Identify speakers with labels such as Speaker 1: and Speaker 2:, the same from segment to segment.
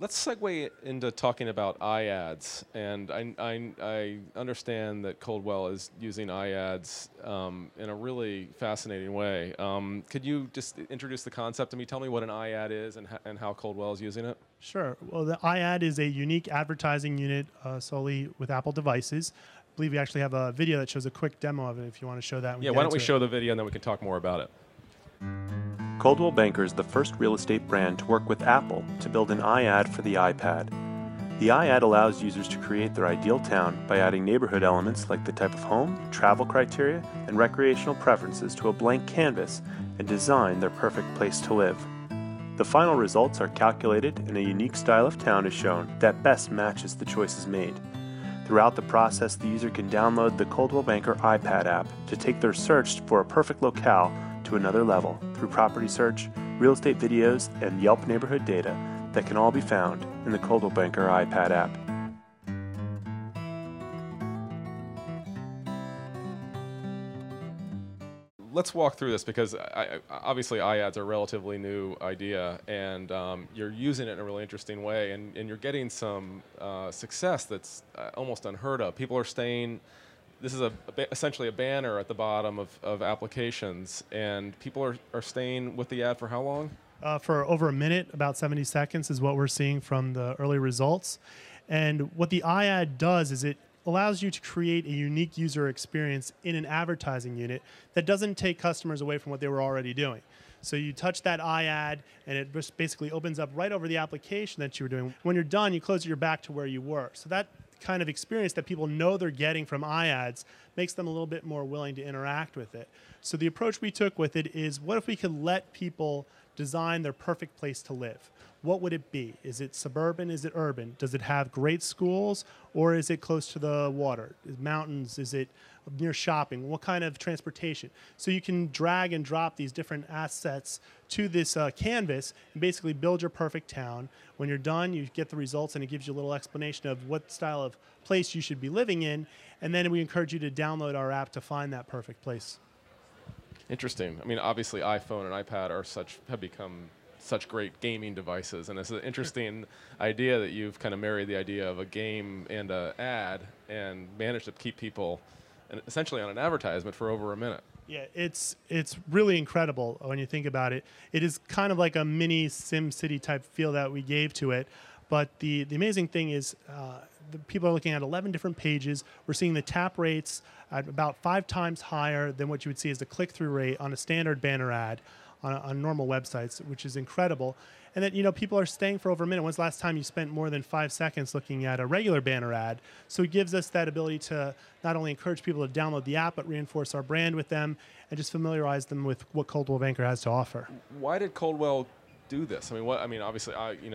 Speaker 1: Let's segue into talking about iAds, and I understand that Coldwell is using iAds in a really fascinating way. Could you just introduce the concept to me? Tell me what an iAd is and how Coldwell is using it.
Speaker 2: Sure. Well, the iAd is a unique advertising unit solely with Apple devices. I believe we actually have a video that shows a quick demo of it if you want to show that.
Speaker 1: Yeah, why don't we show the video and then we can talk more about it.
Speaker 3: Coldwell Banker is the first real estate brand to work with Apple to build an iAd for the iPad. The iAd allows users to create their ideal town by adding neighborhood elements like the type of home, travel criteria, and recreational preferences to a blank canvas and design their perfect place to live. The final results are calculated and a unique style of town is shown that best matches the choices made. Throughout the process, the user can download the Coldwell Banker iPad app to take their search for a perfect locale to another level through property search, real estate videos, and Yelp neighborhood data that can all be found in the Coldwell Banker iPad app.
Speaker 1: Let's walk through this because obviously iAds are a relatively new idea, and you're using it in a really interesting way, and you're getting some success that's almost unheard of. People are staying. This is essentially a banner at the bottom of applications, and people are staying with the ad for how long?
Speaker 2: For over a minute, about 70 seconds is what we're seeing from the early results. And what the iAd does is it allows you to create a unique user experience in an advertising unit that doesn't take customers away from what they were already doing. So you touch that iAd, and it just basically opens up right over the application that you were doing. When you're done, you close it, you're back to where you were. So that kind of experience that people know they're getting from iAds makes them a little bit more willing to interact with it. So the approach we took with it is, what if we could let people design their perfect place to live? What would it be? Is it suburban? Is it urban? Does it have great schools, or is it close to the water? Mountains? Is it near shopping? What kind of transportation? So you can drag and drop these different assets to this canvas and basically build your perfect town. When you're done, you get the results, and it gives you a little explanation of what style of place you should be living in. And then we encourage you to download our app to find that perfect place.
Speaker 1: Interesting. I mean, obviously, iPhone and iPad have become such great gaming devices, and it's an interesting idea that you've kind of married the idea of a game and an ad and managed to keep people essentially on an advertisement for over a minute.
Speaker 2: Yeah, it's really incredible when you think about it. It is kind of like a mini SimCity type feel that we gave to it. But the amazing thing is the people are looking at 11 different pages. We're seeing the tap rates at about 5 times higher than what you would see as the click-through rate on a standard banner ad on normal websites, which is incredible. And then, people are staying for over a minute. When's the last time you spent more than 5 seconds looking at a regular banner ad? So it gives us that ability to not only encourage people to download the app, but reinforce our brand with them and just familiarize them with what Coldwell Banker has to offer.
Speaker 1: Why did Coldwell do this? I mean, obviously,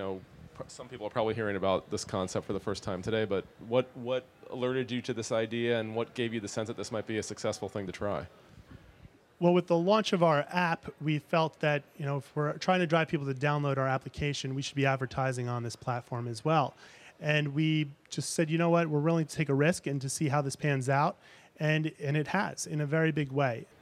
Speaker 1: some people are probably hearing about this concept for the first time today, but what alerted you to this idea, and what gave you the sense that this might be a successful thing to try?
Speaker 2: Well, with the launch of our app, we felt that if we're trying to drive people to download our application, we should be advertising on this platform as well. And we just said, you know what, we're willing to take a risk and to see how this pans out. And it has, in a very big way.